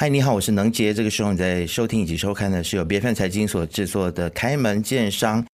嗨，你好，我是能杰。这个时候你在收听以及收看的是由BFM财经所制作的开门见商。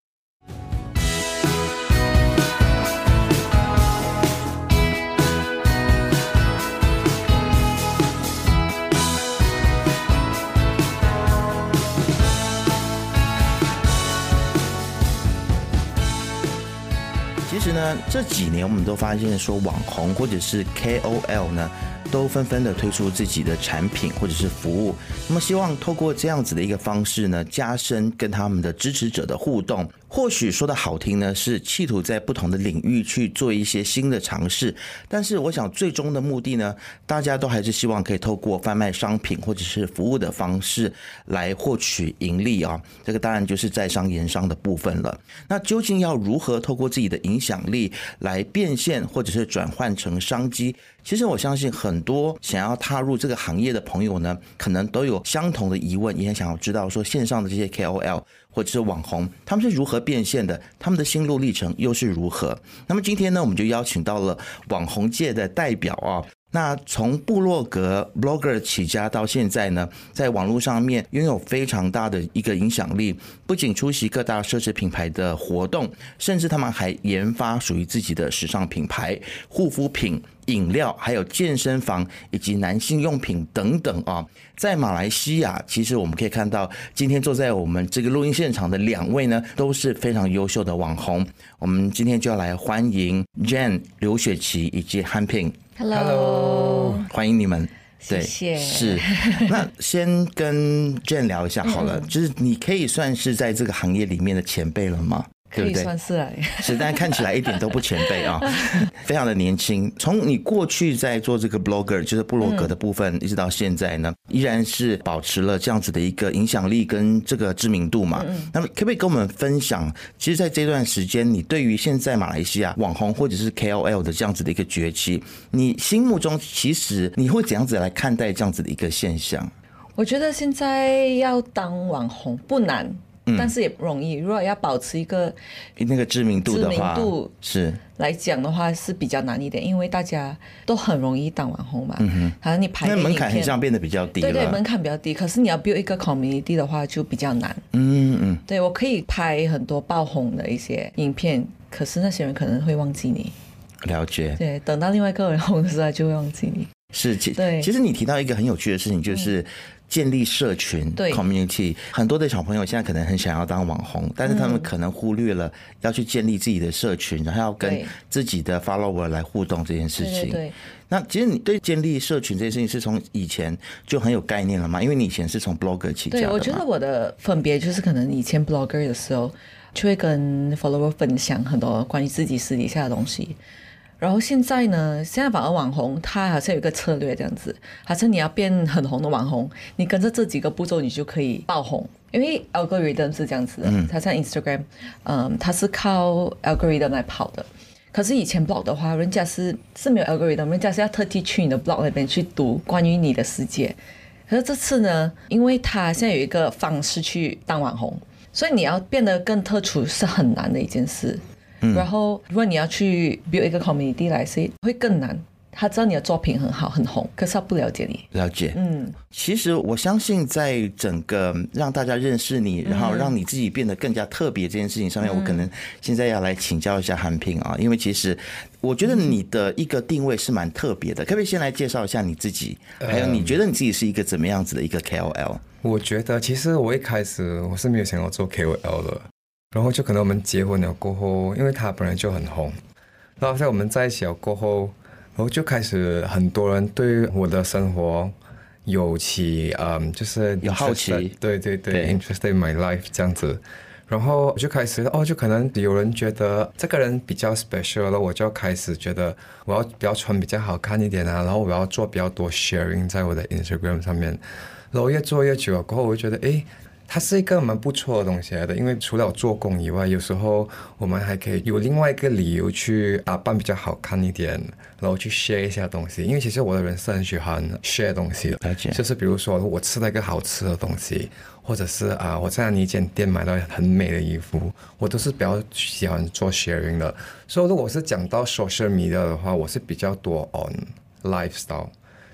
其实呢，这几年我们都发现说，网红或者是 KOL 呢，都纷纷的推出自己的产品或者是服务，那么希望透过这样子的一个方式呢，加深跟他们的支持者的互动。或许说的好听呢，是企图在不同的领域去做一些新的尝试，但是我想最终的目的呢，大家都还是希望可以透过贩卖商品或者是服务的方式来获取盈利啊。这个当然就是在商言商的部分了。那究竟要如何透过自己的影响力来变现或者是转换成商机？其实我相信很多想要踏入这个行业的朋友呢，可能都有相同的疑问，也很想要知道说线上的这些 KOL 或者是网红，他们是如何变现的，他们的心路历程又是如何。那么今天呢，我们就邀请到了网红界的代表啊。那从部落格 blogger 起家到现在呢，在网络上面拥有非常大的一个影响力，不仅出席各大奢侈品牌的活动，甚至他们还研发属于自己的时尚品牌、护肤品、饮料，还有健身房以及男性用品等等啊。在马来西亚，其实我们可以看到，今天坐在我们这个录音现场的两位呢，都是非常优秀的网红。我们今天就要来欢迎 Jen 刘雪琪以及 Hanping。Hello， 欢迎你们。 谢谢。 是。那先跟 Jen 聊一下好了，就是你可以算是在这个行业里面的前辈了吗？ 可以算是啊， 是，但看起来一点都不前辈啊，非常的年轻。从你过去在做这个 blogger， 就是部落格的部分，一直到现在呢，依然是保持了这样子的一个影响力跟这个知名度嘛。那么可不可以跟我们分享，其实在这段时间，你对于现在马来西亚网红或者是 KOL 的这样子的一个崛起，你心目中其实你会怎样子来看待这样子的一个现象？ 我觉得现在要当网红不难。但是也不容易，如果要保持一个那个知名度的话，是来讲的话是比较难一点，因为大家都很容易当网红嘛。好像你拍那门槛很像变得比较低了。 对，门槛比较低，可是你要 build 一个 community 的话就比较难。对，我可以拍很多爆红的一些影片，可是那些人可能会忘记你。 了解。 对，等到另外一个人红的时候就会忘记你。 是，其实你提到一个很有趣的事情，就是建立社群 community。很多的小朋友现在可能很想要当网红，但是他们可能忽略了要去建立自己的社群，然后要跟自己的 follower 来互动这件事情。 对。 那其实你对建立社群这件事情是从以前就很有概念了吗？因为你以前是从 blogger 起家的嘛。对， 我觉得我的分别就是可能以前 blogger 的时候就会跟 follower 分享很多关于自己私底下的东西。然后现在呢，现在反而网红他好像有一个策略这样子，好像你要变很红的网红，你跟着这几个步骤你就可以爆红，因为 algorithm 是这样子的，它像 Instagram，它是靠 algorithm 来跑的。可是以前 blog 的话，人家是没有 algorithm， 人家是要特地去你的 blog 那边去读关于你的世界。可是这次呢，因为他现在有一个方式去当网红，所以你要变得更特殊是很难的一件事。然后如果你要去 build 一个 community 来说会更难，他知道你的作品很好很红，可是他不了解你。 了解。其实我相信在整个让大家认识你，然后让你自己变得更加特别这件事情上面，我可能现在要来请教一下Hanping啊，因为其实我觉得你的一个定位是蛮特别的，可不可以先来介绍一下你自己，还有你觉得你自己是一个怎么样子的一个 KOL？ 我觉得其实我一开始我是没有想要做 KOL 的，然后就可能我们结婚了过后，因为他本来就很红，然后在我们在一起了过后，然后就开始很多人对我的生活有就是有好奇， 对 interested in my life 这样子，然后就开始就可能有人觉得这个人比较 special 了，我就开始觉得我要比较穿比较好看一点啊，然后我要做比较多 sharing 在我的 Instagram 上面，然后越做越久了过后，我就觉得它是一个蛮不错的东西来的，因为除了做工以外，有时候我们还可以有另外一个理由去打扮比较好看一点，然后去 share 一下东西。因为其实我的人是很喜欢 share 东西的，就是比如说我吃了一个好吃的东西，或者是我在一间店买到很美的衣服，我都是比较喜欢做 sharing 的。所以如果是讲到 social media 的话，我是比较多 on lifestyle。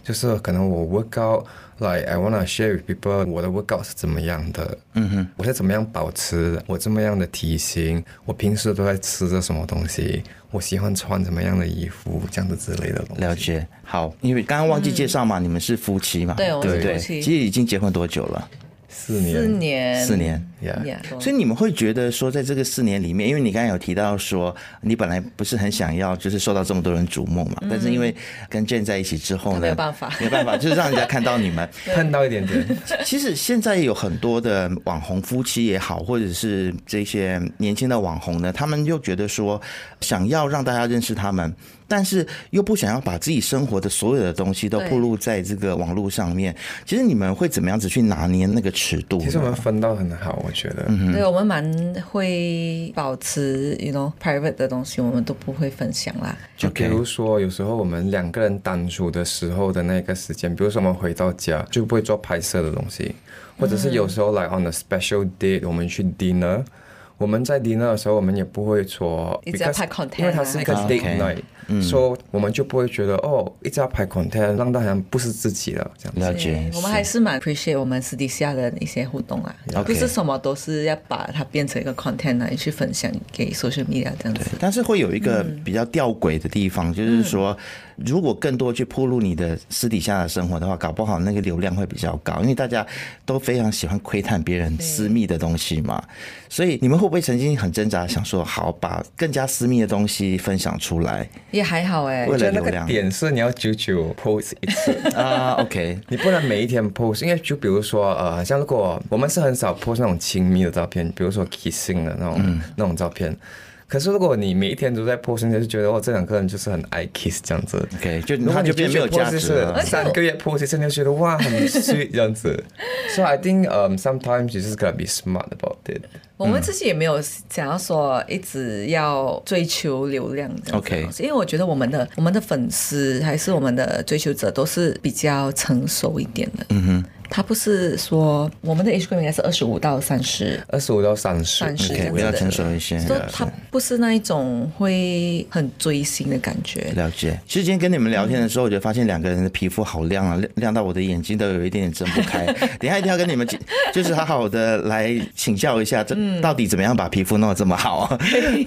就是可能我 workout like I wanna share with people 我的 workout 是怎么样的，我是怎么样保持我这么样的体型，我平时都在吃着什么东西，我喜欢穿怎么样的衣服，这样子之类的东西。 了解。好，因为刚刚忘记介绍嘛，你们是夫妻嘛？ 对，我们是夫妻。 其实已经结婚多久了 ？4年。 4年。所以你们会觉得说，在这个4年里面，因为你刚才有提到说，你本来不是很想要就是受到这么多人瞩目嘛，但是因为跟 Jane 在一起之后呢， 没有办法， 就是让人家看到你们碰到一点点。 其实现在有很多的网红夫妻也好，或者是这些年轻的网红呢，他们又觉得说，想要让大家认识他们，但是又不想要把自己生活的所有的东西都暴露在这个网络上面。其实你们会怎么样子去拿捏那个尺度？ 其实我们分到很好，我觉得。 对，我们蛮会保持 private 的东西，我们都不会分享啦。 就比如说，有时候我们2个人单处的时候的那个时间，比如说我们回到家就不会做拍摄的东西，或者是有时候like on a special date 我们去 dinner。我们在 dinner 的时候，我们也不会说一直要拍 content， 因为它是一个 date night，所以我们就不会觉得一直要拍 content， 让大家不是自己了这样子。 了解。 我们还是蛮 appreciate 我们私底下的一些互动啦，不是什么都是要把它变成一个 content 来去分享给 social media 这样子。 但是会有一个比较吊诡的地方，就是说，如果更多去暴露你的私底下的生活的话，搞不好那个流量会比较高，因为大家都非常喜欢窥探别人私密的东西嘛。所以你们会不会曾经很挣扎，想说好把更加私密的东西分享出来？ 也还好哎， 为了流量。点是你要久久 post 一次啊，OK， 你不能每一天 post， 因为就比如说像如果我们是很少 post 那种亲密的照片，比如说 kissing 的那种照片。可是如果你每一天都在 post， 你就觉得这2个人就是很爱 kiss 这样子。 OK， 就他就变没有价值了。 3个月 post 一次，你就觉得哇很 sweet 这样子。So I think sometimes you just gotta be smart about it。 我们自己也没有想要说一直要追求流量这样子。 OK， 因为我觉得我们的粉丝还是我们的追求者都是比较成熟一点的。他不是说我们的 age group 应该是25到30， 比较成熟一些。 所以他不是那一种会很追星的感觉。 了解。其实今天跟你们聊天的时候，我就发现2个人的皮肤好亮啊，亮到我的眼睛都有一点点睁不开。等一下一定要跟你们就是好好的来请教一下，这到底怎么样把皮肤弄得这么好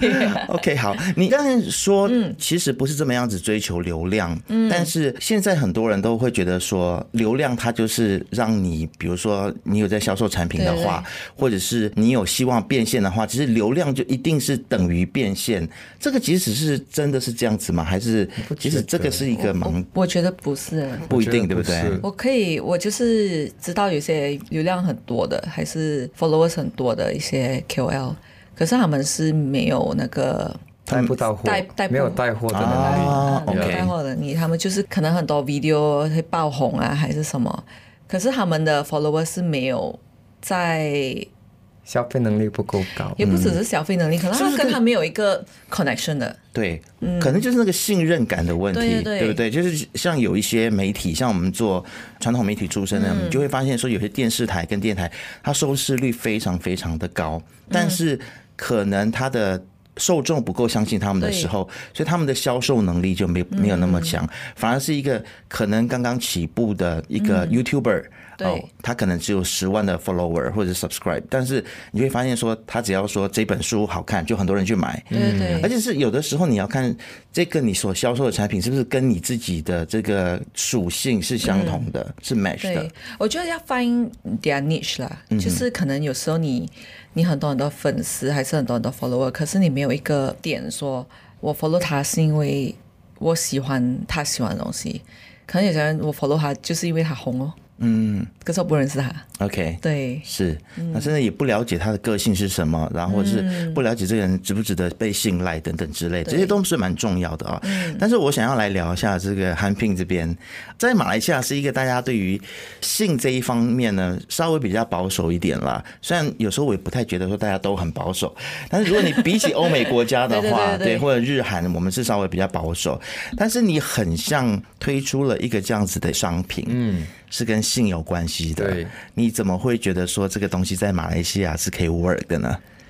？OK， 好，你刚才说其实不是这么样子追求流量，但是现在很多人都会觉得说流量它就是让你比如说你有在销售产品的话，或者是你有希望变现的话，其实流量就一定是等于变现。这个即使是真的是这样子吗？还是其实这个是一个盲？ 我觉得不是， 不一定，对不对？ 我就是知道有些流量很多的，还是 followers 很多的一些 KOL， 可是他们是没有那个带不到货，没有带货的能力， 没有带货的能力，他们就是可能很多 video 会爆红啊，还是什么。可是他们的 followers 是没有在消费能力不够高， 也不只是消费能力，可能他跟他没有一个 connection 的。 对，可能就是那个信任感的问题，对不对？就是像有一些媒体，像我们做传统媒体出身的，你就会发现说，有些电视台跟电台，它收视率非常非常的高，但是可能它的受众不够相信他们的时候，所以他们的销售能力就没有那么强，反而是一个可能刚刚起步的一个 YouTuber。他可能只有10万的 follower 或者 subscribe， 但是你会发现说，他只要说这本书好看，就很多人去买。 对， 而且是有的时候你要看这个你所销售的产品是不是跟你自己的这个属性是相同的，是 match 的。 对，我觉得要 find their niche 啦，就是可能有时候你很多很多粉丝，还是很多很多 follower， 可是你没有一个点说，我 follow 他是因为我喜欢他喜欢的东西，可能有些人我 follow 他就是因为他红哦。可是我不认识他。OK， 对， 是，那真的也不了解他的个性是什么，然后或者是不了解这个人值不值得被信赖等等之类，这些都是蛮重要的啊。但是我想要来聊一下这个韩聘这边，在马来西亚是一个大家对于性这一方面呢稍微比较保守一点啦。虽然有时候我也不太觉得说大家都很保守，但是如果你比起欧美国家的话，对，或者日韩，我们是稍微比较保守。但是你很像推出了一个这样子的商品，是跟性有关系的。 对， 你怎么会觉得说这个东西在马来西亚是可以 work 的呢？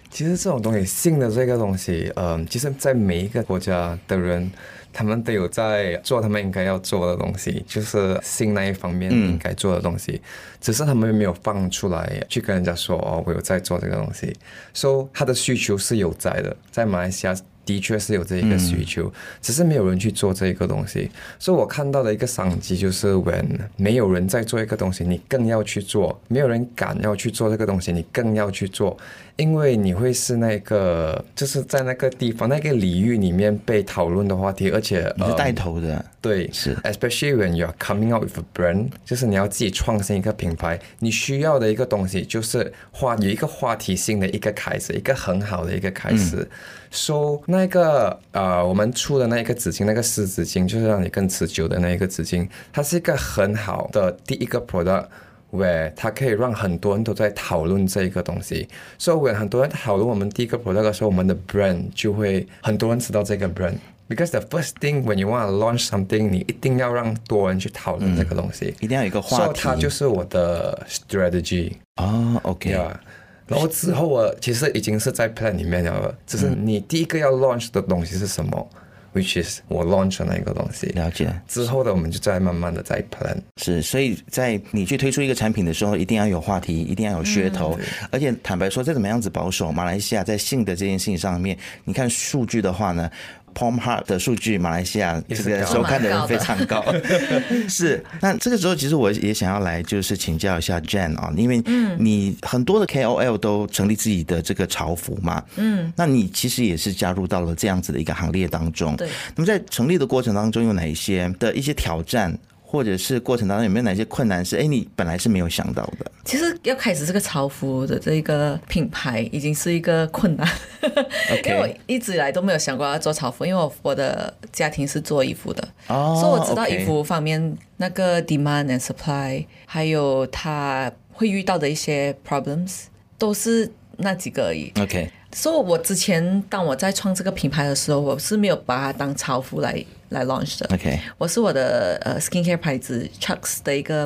其实这种东西，性的这个东西，其实在每一个国家的人，他们都有在做他们应该要做的东西，就是性那一方面应该做的东西，只是他们没有放出来去跟人家说哦，我有在做这个东西，所以他的需求是有在的，在马来西亚的确是有这一个需求，只是没有人去做这个东西。所以我看到的一个商机就是 when 没有人在做一个东西，你更要去做，没有人敢要去做这个东西，你更要去做，因为你会是那个就是在那个地方那个领域里面被讨论的话题，而且你是带头的， 对， 是 especially when you're coming out with a brand， 就是你要自己创新一个品牌，你需要的一个东西就是有一个话题性的一个开始，一个很好的一个开始。So 那个我们出的那一个纸巾，那个湿纸巾，就是让你更持久的那一个纸巾，它是一个很好的第一个 product。where 它可以让很多人都在讨论这一个东西，所以 when 很多人讨论我们第一个 product 的时候，我们的 brand 就会很多人知道这个 brand。Because the first thing when you want to launch something， 你一定要让多人去讨论这个东西， 一定要有一个话题。 所以它就是我的 strategy。 OK。 然后之后我其实已经是在 plan 里面了，只是你第一个要 launch 的东西是什么？which is 我 launch 的那个东西， 了解。 之后的我们就再慢慢的再 plan。 是，所以在你去推出一个产品的时候，一定要有话题，一定要有噱头。而且坦白说，再怎么样子保守，马来西亚在性的这件事情上面，你看数据的话呢，Pornhub 的数据，马来西亚这个收看的人非常高。是，那这个时候其实我也想要来就是请教一下 Jen 啊，因为你很多的 KOL 都成立自己的这个潮服嘛，那你其实也是加入到了这样子的一个行列当中。 对， 那么在成立的过程当中有哪一些的一些挑战？或者是过程当中有没有哪些困难是你本来是没有想到的？ 其实要开始这个潮服的这个品牌已经是一个困难因为我一直以来都没有想过要做潮服，因为我的家庭是做衣服的，所以我知道衣服方面那个 demand and supply 还有他会遇到的一些 problems 都是那几个而已。所以我之前当我在创这个品牌的时候，我是没有把它当潮服来 launch 的。我是我的skincare 牌子 Chucks 的一个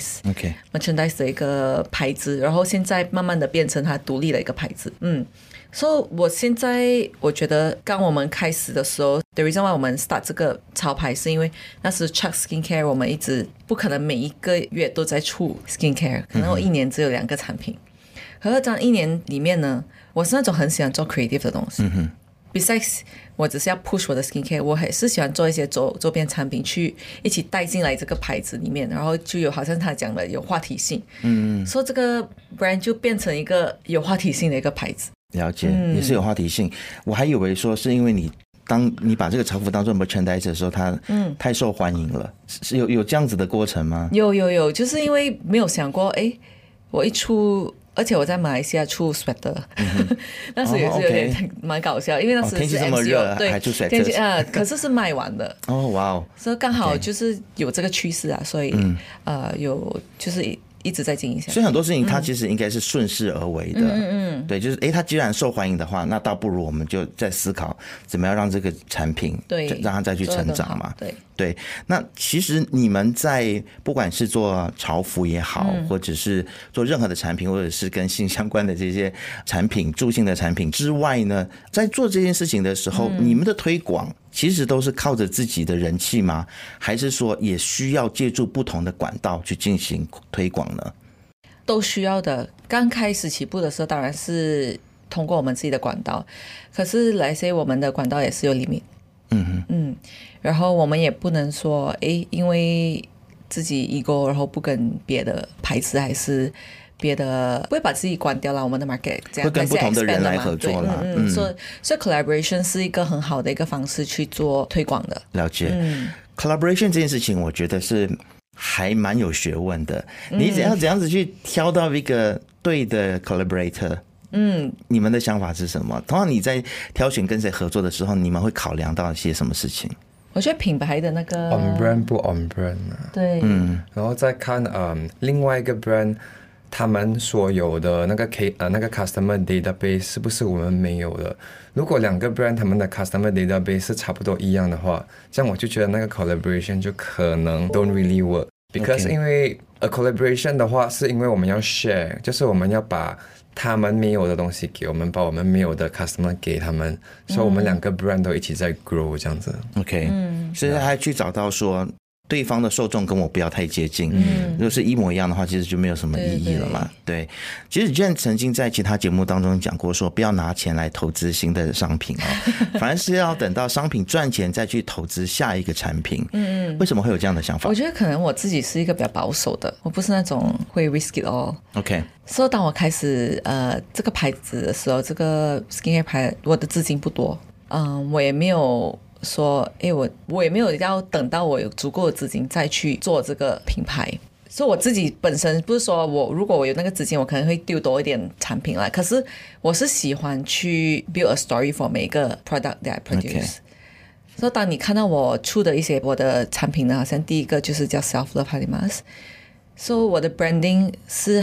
merchandise 的一个牌子，然后现在慢慢的变成它独立的一个牌子。所以我现在我觉得刚我们开始的时候 the reason why 我们 start 这个潮牌是因为那时 Chucks skincare 我们一直不可能每一个月都在出 skincare， 可能我一年只有2个产品。可是这样一年里面呢，我是那种很喜欢做 creative 的东西。Besides 我只是要 push 我的 skincare， 我还是喜欢做一些周边产品去一起带进来这个牌子里面，然后就有好像他讲的有话题性。所以这个 brand 就变成一个有话题性的一个牌子。 了解，也是有话题性。我还以为说是因为当你把这个潮服当做 merchandise 的时候，它太受欢迎了，是有这样子的过程吗？ 有，就是因为没有想过，我一出。而且我在马来西亚出 sweater，那时也是有点蛮搞笑，因为那时是 MCO， 天气这么热，还出 sweater， 可是卖完的。 哇哦！ 所以刚好就是有这个趋势啊，所以有就是一直在经营下去。 所以很多事情它其实应该是顺势而为的。对，就是它既然受欢迎的话，那倒不如我们就在思考怎么样让这个产品让它再去成长嘛。对，那其实你们在不管是做潮服也好，或者是做任何的产品，或者是跟性相关的这些产品、助性的产品之外呢，在做这件事情的时候，你们的推广其实都是靠着自己的人气吗？还是说也需要借助不同的管道去进行推广呢？ 都需要的。刚开始起步的时候，当然是通过我们自己的管道，可是来say我们的管道也是有 limit。然后我们也不能说因为自己 ego 然后不跟别的牌子还是别的不会把自己关掉了，我们的 market 这样会跟不同的人来合作啦。 所以 collaboration 是一个很好的一个方式去做推广的。 了解。collaboration 这件事情我觉得是还蛮有学问的，你怎样子去挑到一个对的 collaborator？你们的想法是什么？通常你在挑选跟谁合作的时候，你们会考量到一些什么事情？ 我觉得品牌的那个 on brand 不 on brand 对， 然后再看另外一个 brand 他们所有的那个customer database 是不是我们没有的？如果2个 brand 他们的 customer database 是差不多一样的话，这样我就觉得那个 collaboration 就可能 don't really work。Because 因为 A collaboration 的话，是因为我们要 share， 就是我们要把他们没有的东西给我们，把我们没有的 customer 给他们，所以我们两个 brand 都一起在 grow 这样子。 OK，所以他还去找到说对方的受众跟我不要太接近，如果是一模一样的话，其实就没有什么意义了嘛。对，其实 Jen 曾经在其他节目当中讲过说，不要拿钱来投资新的商品反而是要等到商品赚钱再去投资下一个产品。为什么会有这样的想法？ 我觉得可能我自己是一个比较保守的，我不是那种会 risk it all。OK， 所以当我开始这个牌子的时候，这个 skincare 牌，我的资金不多，我也没有说，我也没有要等到我有足够的资金再去做这个品牌。所以我自己本身不是说如果我有那个资金，我可能会丢多一点产品来，可是我是喜欢去 build a story for 每一个 product that I produce。所以当你看到我出的一些我的产品呢，好像第一个就是叫 Self Love Halimas， 所以我的 branding 是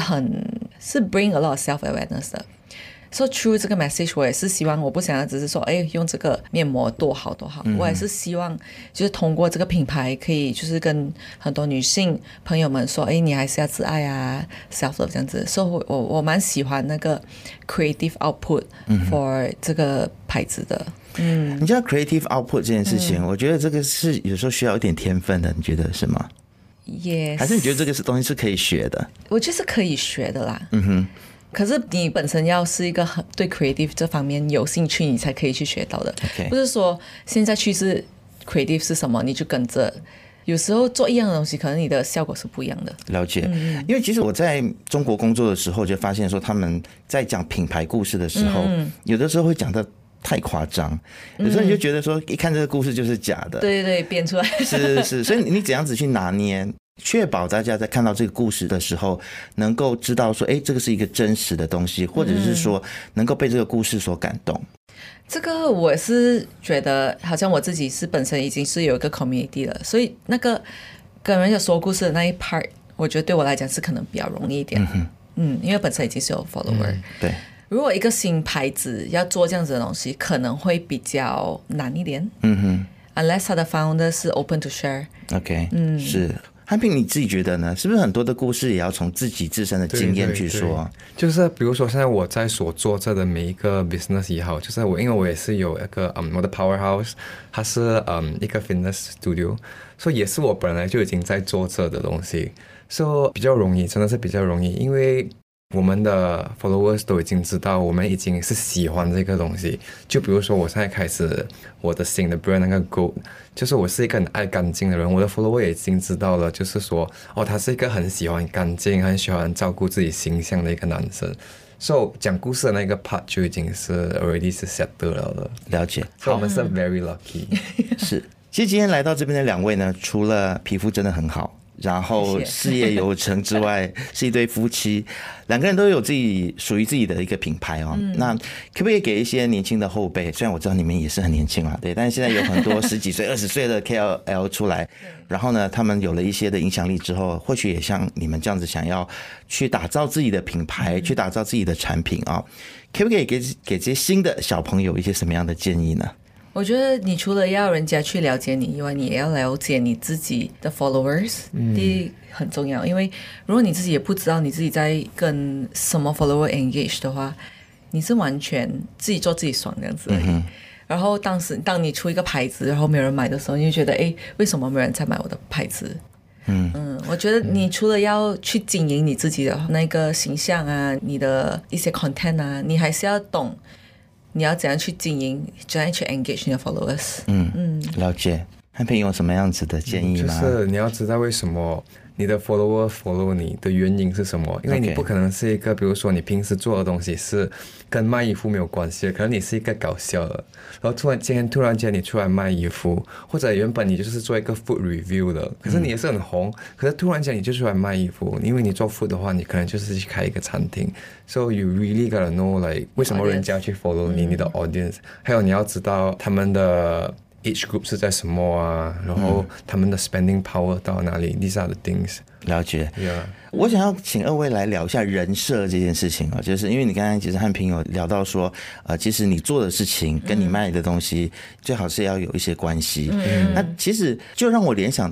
bring a lot of self awareness 的。So through 这个 message， 我也是希望，我不想要只是说，用这个面膜多好多好，我也是希望就是通过这个品牌，可以就是跟很多女性朋友们说，你还是要自爱啊 ，self love 这样子。所以我蛮喜欢那个 creative output for 这个牌子的。 你知道 creative output 这件事情，我觉得这个是有时候需要一点天分的，你觉得是吗 ？Yes。 还是你觉得这个东西是可以学的？ 我觉得是可以学的啦。可是你本身要是一个对 creative 这方面有兴趣，你才可以去学到的。不是说现在趋势 creative 是什么你就跟着，有时候做一样的东西，可能你的效果是不一样的。 了解。因为其实我在中国工作的时候，就发现说他们在讲品牌故事的时候，有的时候会讲的太夸张，有时候你就觉得说一看这个故事就是假的。 对，编出来。 是，所以你怎样子去拿捏，确保大家在看到这个故事的时候能够知道说这个是一个真实的东西，或者是说能够被这个故事所感动。 这个我是觉得好像我自己是本身已经是有一个 community 了，所以那个跟人家说故事的那一 part， 我觉得对我来讲是可能比较容易一点。因为本身已经是有 follower。 对， 如果一个新牌子要做这样子的东西，可能会比较难一点。unless 他的 founder 是 open to share。OK， 是。汉平，你自己觉得呢？是不是很多的故事也要从自己自身的经验去说？ 对，就是比如说现在我在所做着的每一个 business 也好，就是因为我也是有一个我的 powerhouse， 它是一个 fitness studio， 所以也是我本来就已经在做着的东西，所以比较容易，真的是比较容易，因为我们的 followers 都已经知道我们已经是喜欢这个东西。就比如说我现在开始我的新的 brand 那个 Gold， 就是我是一个很爱干净的人，我的 follower 也已经知道了，就是说他是一个很喜欢干净很喜欢照顾自己形象的一个男生。所以讲故事的那个 part 就已经是 already 是 set 得了。 了解。 所以我们是 very lucky。 是。其实今天来到这边的两位呢，除了皮肤真的很好，然后事业有成之外，是一对夫妻，两个人都有自己属于自己的一个品牌哦。那可不可以给一些年轻的后辈？虽然我知道你们也是很年轻啦，对，但是现在有很多10几岁、20岁的 KOL 出来，然后呢，他们有了一些的影响力之后，或许也像你们这样子，想要去打造自己的品牌，去打造自己的产品啊，可不可以给这些新的小朋友一些什么样的建议呢？ 我觉得你除了要人家去了解你以外，你也要了解你自己的 followers，第一很重要，因为如果你自己也不知道你自己在跟什么 follower engage 的话，你是完全自己做自己爽这样子而已。然后当你出一个牌子，然后没有人买的时候，你就觉得为什么没有人在买我的牌子？我觉得你除了要去经营你自己的那个形象啊，你的一些 content 啊，你还是要懂你要怎样去经营，怎样去 engage 你的 followers。 了解。汉平有什么样子的建议吗？ 就是你要知道为什么你的 follower follow 你的原因是什么，因为你不可能是一个比如说你平时做的东西是跟卖衣服没有关系的，可能你是一个搞笑的，然后突然间你出来卖衣服，或者原本你就是做一个 food review 的，可是你也是很红，可是突然间你就出来卖衣服，因为你做 food 的话，你可能就是去开一个餐厅。So you really gotta know like 为什么人家去 follow 你的 audience， 还有你要知道他们的age group 是在什么啊，然后他们的 spending power 到哪里 ，these are the things。 了解。 Yeah。 我想要请二位来聊一下人设这件事情啊，就是因为你刚才其实汉平有聊到说，其实你做的事情跟你卖的东西最好是要有一些关系。那其实就让我联想到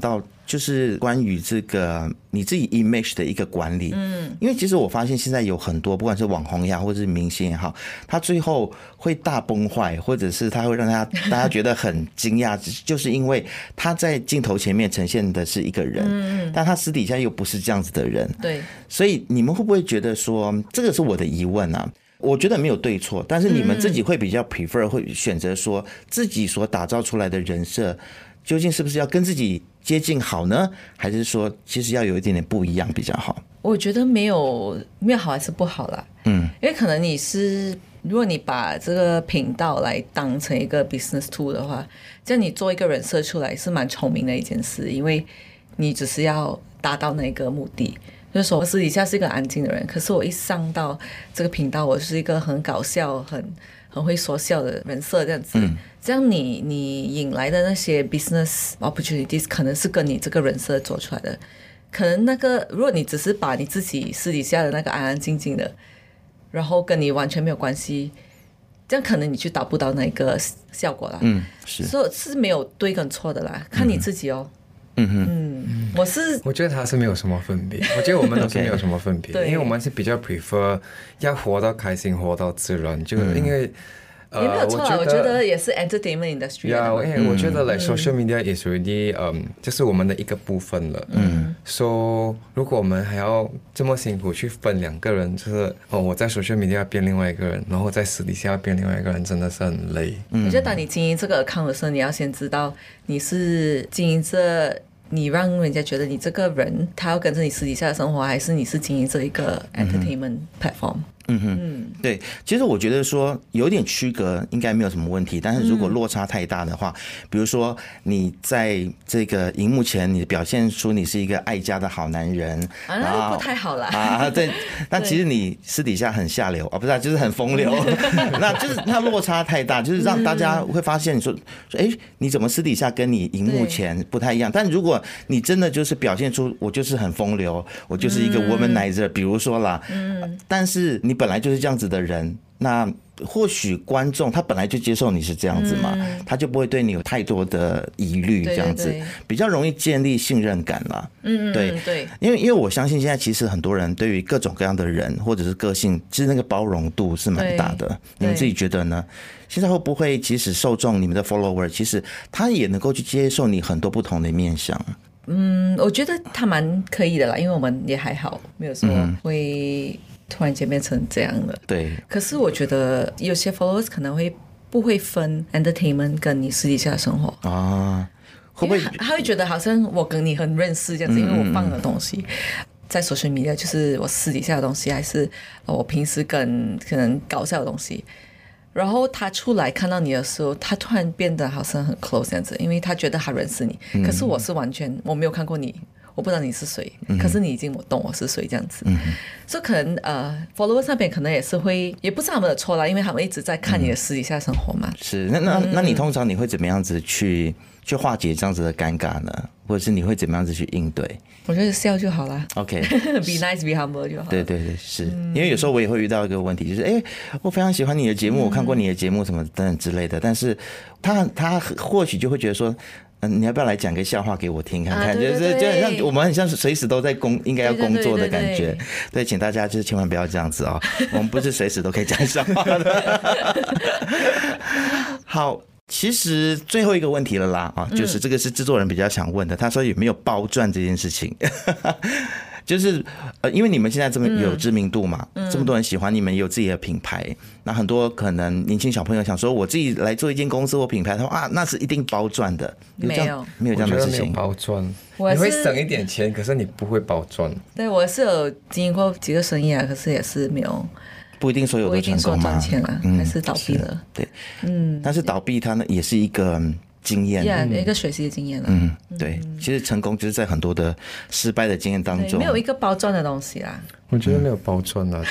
就是关于这个你自己 image 的一个管理。因为其实我发现现在有很多不管是网红也好或者是明星也好，他最后会大崩坏，或者是他会让大家觉得很惊讶，就是因为他在镜头前面呈现的是一个人，但他私底下又不是这样子的人。 对， 所以你们会不会觉得说，这个是我的疑问啊？我觉得没有对错，但是你们自己会比较 prefer 会选择说自己所打造出来的人设究竟是不是要跟自己接近好呢？还是说其实要有一点点不一样比较好？ 我觉得没有好还是不好啦。因为可能如果你把这个频道来当成一个 business tool 的话，这样你做一个人设出来是蛮聪明的一件事，因为你只是要达到那个目的。就是说我私底下是一个安静的人，可是我一上到这个频道，我是一个很搞笑很会说笑的人设这样子。这样你引来的那些 business opportunities 可能是跟你这个人设做出来的。可能如果你只是把你自己私底下的那个安安静静的，然后跟你完全没有关系，这样可能你就达不到那个效果啦。 是， 所以是没有对跟错的啦，看你自己哦。我觉得他是没有什么分别，我觉得我们都是没有什么分别，因为我们是比较 prefer 要活到开心，活到自然，就因为也没有错啦，我觉得也是 entertainment industry。 因为我觉得 like social media is already 就是我们的一个部分了。so 如果我们还要这么辛苦去分两个人，就是我在 social media 要变另外一个人，然后在私底下要变另外一个人，真的是很累。 我觉得当你经营这个 account 的时候，你要先知道你是经营这。你让人家觉得你这个人他要跟着你私底下的生活，还是你是经营这一个 entertainment platform。 对，其实我觉得说有点区隔应该没有什么问题，但是如果落差太大的话，比如说你在这个荧幕前你表现出你是一个爱家的好男人那就不太好啦。 对，但其实你私底下很下流啊，不是就是很风流，那就是那落差太大，就是让大家会发现说你怎么私底下跟你荧幕前不太一样？但如果你真的就是表现出我就是很风流，我就是一个 womanizer，比如说啦，但是你本来就是这样子的人，那或许观众他本来就接受你是这样子嘛，他就不会对你有太多的疑虑，这样子比较容易建立信任感啦。对，因为我相信现在其实很多人对于各种各样的人或者是个性，其实那个包容度是蛮大的。你们自己觉得呢？现在会不会其实受众你们的 follower 其实他也能够去接受你很多不同的面向？ 我觉得他蛮可以的啦，因为我们也还好，没有说会突然间变成这样了。 对。 可是我觉得有些 followers 可能不会分 entertainment 跟你私底下的生活啊，会不会他会觉得好像我跟你很认识这样子，因为我放的东西在 social media 就是我私底下的东西，还是我平时跟可能搞笑的东西。然后他出来看到你的时候，他突然变得好像很 close 这样子，因为他觉得他认识你。可是我是完全我没有看过你，我不知道你是谁，可是你已经懂我是谁这样子。所以可能followers 那边可能也是会，也不是他们的错啦，因为他们一直在看你的私底下生活嘛。 是，那你通常你会怎么样子去化解这样子的尴尬呢？或者是你会怎么样子去应对？ 我觉得笑就好啦。 OK，be nice, be humble 就好。 对，是因为有时候我也会遇到一个问题，就是我非常喜欢你的节目，我看过你的节目什么等等之类的，但是他或许就会觉得说，你要不要来讲个笑话给我听看看？就很像我们很像是随时都在应该要工作的感觉。对，请大家就是千万不要这样子哦，我们不是随时都可以讲笑话的。好。其实最后一个问题了啦就是这个是制作人比较想问的，他说有没有包赚这件事情？就是因为你们现在这么有知名度嘛，这么多人喜欢你们，也有自己的品牌，那很多可能年轻小朋友想说，我自己来做一间公司或品牌，他说那是一定包赚的，没有这样的事情。 没有包赚，你会省一点钱，可是你不会包赚。 对，我是有经营过几个生意啊，可是也是没有。 不一定所有都成功嘛， 赚钱了，还是倒闭了。 对，但是倒闭它呢也是一个经验， 一个学习的经验了。 对，其实成功就是在很多的失败的经验当中， 没有一个包赚的东西啦。 我觉得没有包赚啦，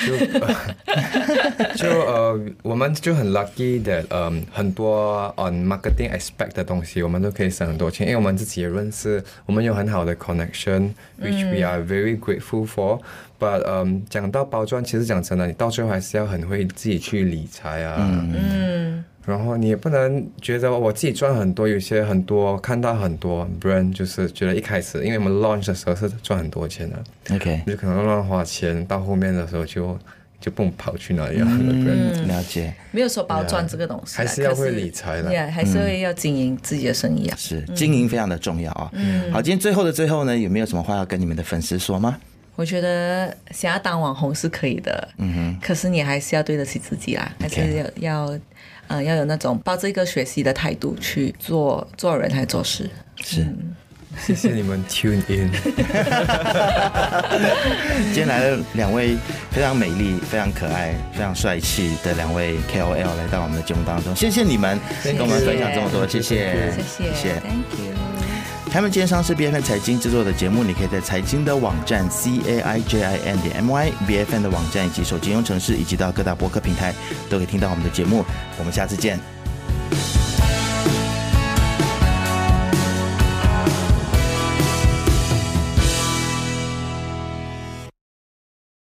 我们就很 lucky that 很多 on marketing aspect 的东西，我们都可以省很多钱，因为我们自己也认识，我们有很好的 connection，which we are very grateful for。But 讲到包赚，其实讲真的，你到最后还是要很会自己去理财啊。 然后你也不能觉得我自己赚很多，有些很多看到很多 brand 就是觉得一开始，因为我们 launch 的时候是赚很多钱的 OK， 就可能乱花钱，到后面的时候就不跑去哪里了。 了解， 没有说包赚这个东西， 还是要会理财的， 还是会要经营自己的生意啊。 是经营非常的重要啊。好，今天最后的最后呢，有没有什么话要跟你们的粉丝说吗？ 我觉得想要当网红是可以的，可是你还是要对得起自己啦，还是要有那种抱着一个学习的态度去做人还做事。 是。 谢谢你们 tune in。 今天来了2位非常美丽、非常可爱、非常帅气的2位 KOL 来到我们的节目当中，谢谢你们跟我们分享这么多，谢谢 Thank you。 开门见山是 BFN 财经制作的节目，你可以在财经的网站 CAIJIN.my、BFN 的网站以及手机应用程式，以及到各大播客平台都可以听到我们的节目。我们下次见。